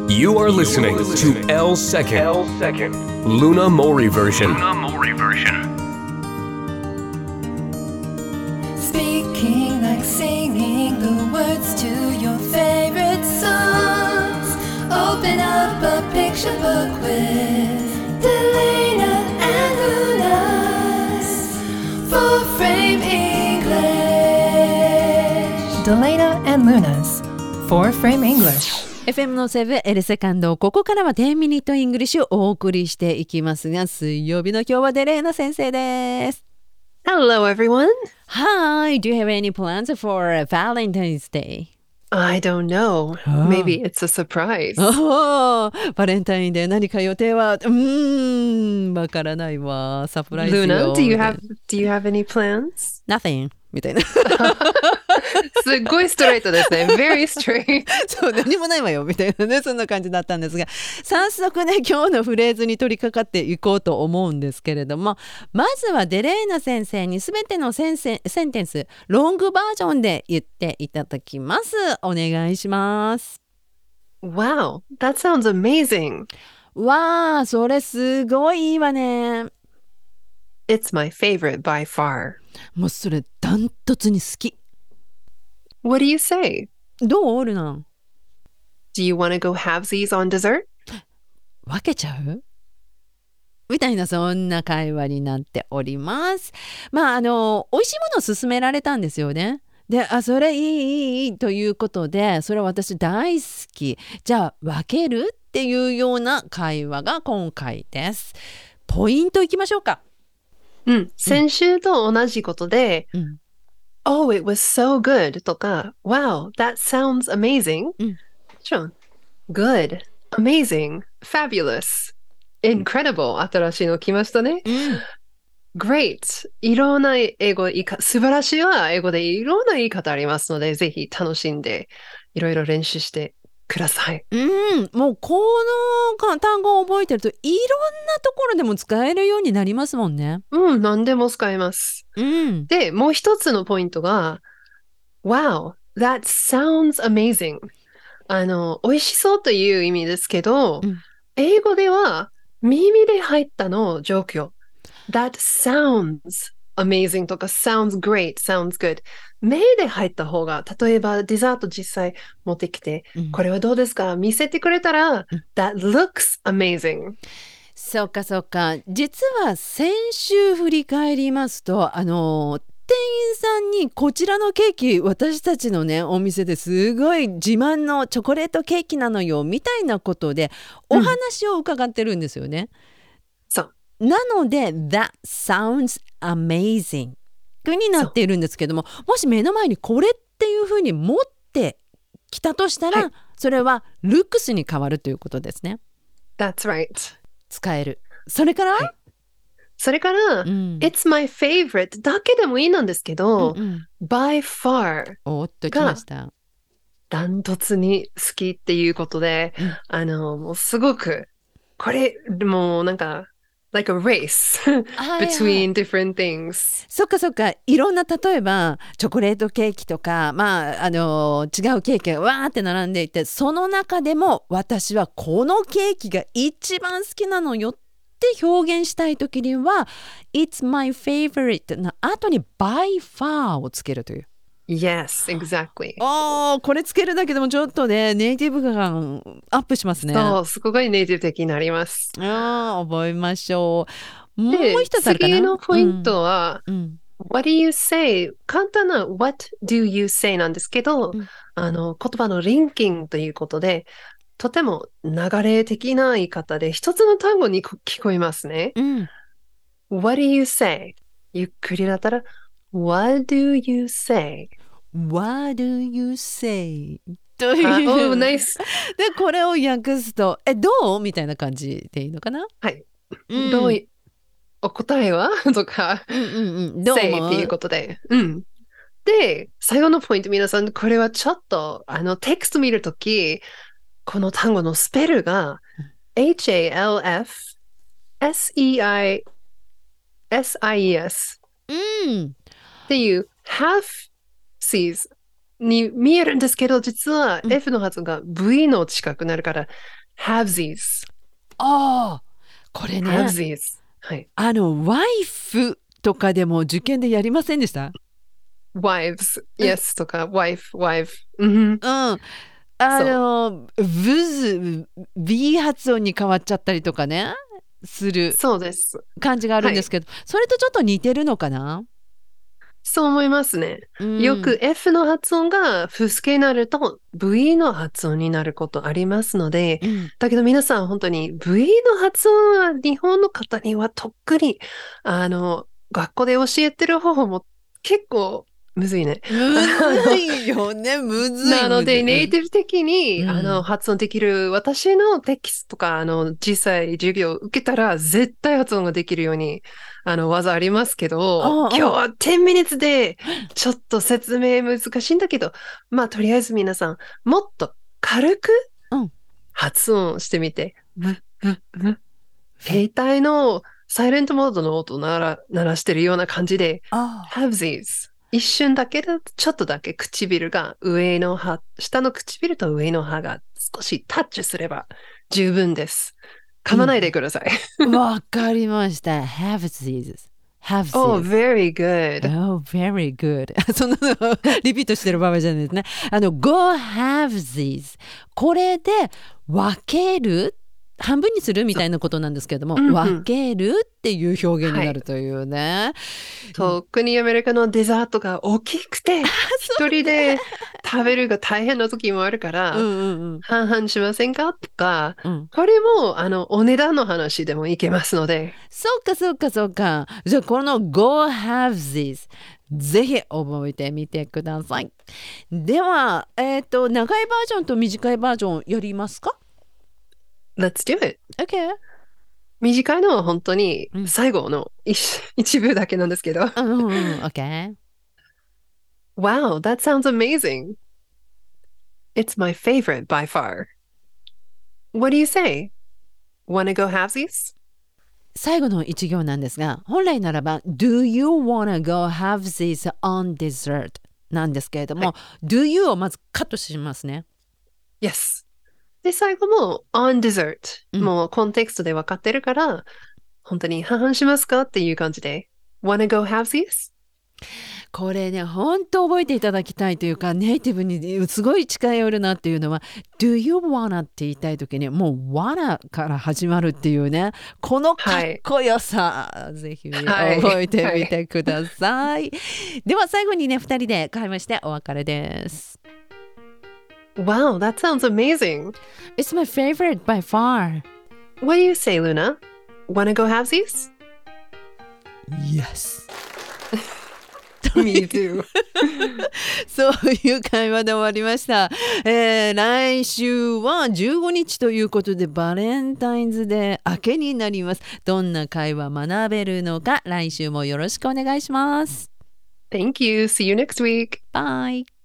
You are listening to L Second Luna Mori version. Speaking like singing the words to your favorite songs. Open up a picture book with Delana and Luna's Four-Frame English. Delana and Luna's Four-Frame English.FM のセブンエルセカンド、ここからは10ミニットイングリッシュをお送りしていきますが、水曜日の今日はデレーナ先生です。 Hello everyone. Hi, do you have any plans for Valentine's Day? I don't know. Maybe it's a surprise. バレンタインデー何か予定はわからないわ。サプライズよ。 Luna, do you have any plans? Nothing みたいなすっごいストレートですね。Very straight. そう、何もないわよみたいなね、そんな感じだったんですが、早速ね、今日のフレーズに取り掛かっていこうと思うんですけれども、まずはデレーナ先生にすべてのセンテンスロングバージョンで言っていただきます。お願いします。 Wow, that sounds amazing. わあ、それすごいいいわね。 It's my favorite by far. もうそれダントツに好き。 What do you say? どうルナ？ Do you want to go halvesies on dessert? 分けちゃう？みたいな、そんな会話になっております。まあ美味しいものを勧められたんですよね。で、それいいということで、それ私大好き。じゃあ分けるっていうような会話が今回です。ポイントいきましょうか。 先週と同じことで、Oh, it was so good とか、Wow, that sounds amazing. もちろん、Good, amazing, fabulous, incredible 新しいの来ましたね。Great いろんな英語素晴らしいは英語でいろんな言い方ありますので、ぜひ楽しんでいろいろ練習してください。 もうこの単語を覚えてるといろんなところでも使えるようになりますもんね。 何でも使えます。で、もう一つのポイントが Wow, that sounds amazing. 美味しそうという意味ですけど、英語では耳で入ったの状況。That sounds amazing とか sounds great, sounds good. 目で入った方が、例えばデザート実際持ってきて、これはどうですか？見せてくれたら、That looks amazing. そうかそうか。実は先週振り返りますと、店員さんにこちらのケーキ、私たちのねお店ですごい自慢のチョコレートケーキなのよみたいなことでお話を伺ってるんですよね。 そうなので That sounds amazing になっているんですけども、もし目の前にこれっていうふうに持ってきたとしたら、それは looks に変わるということですね。 That's right. 使える。それから、 それから、It's my favorite だけでもいいなんですけど、by far おっときました。 ダントツに好きっていうことで、もうすごく、これ、もうなんか、like a race between different things. そっかそっか。いろんな、例えばチョコレートケーキとか、違うケーキがわーって並んでいて、その中でも私はこのケーキが一番好きなのよって表現したいときには It's my favorite の後に by far をつけるという。 Yes, exactly. これつけるだけでもちょっとね、ネイティブ感アップしますね。 そう、すごいネイティブ的になります。 覚えましょう。もう一つあるかな。 次のポイントは、What do you say? 簡単な What do you say なんですけど、言葉のリンキングということで、とても流れ的な言い方で、一つの単語に聞こえますね。What do you say? ゆっくりだったら、What do you say?What do you say? という。 ナイス。 で、これを訳すと、どうみたいな感じでいいのかな？ はい。どうお答えはとか、 どう say っていうことで。で、最後のポイント、皆さん、これはちょっと、テキスト見るとき、この単語のスペルが、HALFSEIS っていう half seas に見えるんですけど、実は F の発音が V の近くなるから、 Halvesies。 ああ、これね。 Halvesies。はい。 ワイフとかでも受験でやりませんでした？ wives。yes とか、wife。 うん。ブズ、B 発音に変わっちゃったりとかね、するそうです。 感じがあるんですけど、それとちょっと似てるのかな？ そう思いますね。よく F の発音が不助になると V の発音になることありますので、だけど皆さん本当に V の発音は日本の方にはとっくに、学校で教えてる方法も結構むずいね。 むずいよね、むずい。 なので、ネイティブ的に、発音できる、私のテキストとか、実際授業を受けたら、絶対発音ができるように、技ありますけど、今日は10 minutes で、ちょっと説明難しいんだけど、まあ、とりあえず皆さん、もっと軽く発音してみて。携帯のサイレントモードの音を鳴らしてるような感じで、Halvesies。一瞬だけで、ちょっとだけ唇が下の唇と上の歯が少しタッチすれば十分です。噛まないでください。 わかりました。Halvesies。 Oh, very good. Oh, very good. そんなのリピートしてる場合じゃないですね。Go halvesies。これで分ける半分にするみたいなことなんですけれども、分けるっていう表現になるというね。 特にアメリカのデザートが大きくて、一人で食べるが大変な時もあるから、半々しませんかとか、これもお値段の話でもいけますので。 そうか。じゃあこの Go halvesies。ぜひ覚えてみてください。では、長いバージョンと短いバージョンやりますか ？Let's do it. Okay. 短いのは本当に最後の一部だけなんですけど。 Okay. Wow, that sounds amazing. It's my favorite by far. What do you say? Wanna go halvesies? 最後の一行なんですが、本来ならば Do you wanna go halvesies on dessert? なんですけれども、Do you をまずカットしますね。 Yes. で、最後も on dessert。もうコンテクストで分かってるから、本当に半々しますかっていう感じで。Wanna go halvesies? これね、本当覚えていただきたいというか、ネイティブにすごい近寄るなっていうのは、Do you wanna って言いたいときに、もう wanna から始まるっていうね、このかっこよさ、ぜひ覚えてみてください。では最後にね、2人で会話してお別れです。 Wow, that sounds amazing. It's my favorite by far. What do you say, Luna? Wanna go halvesies? Yes. Me too. そういう会話で終わりました。来週は15日ということでバレンタインズデー明けになります。どんな会話学べるのか来週もよろしくお願いします。 Thank you. See you next week. Bye.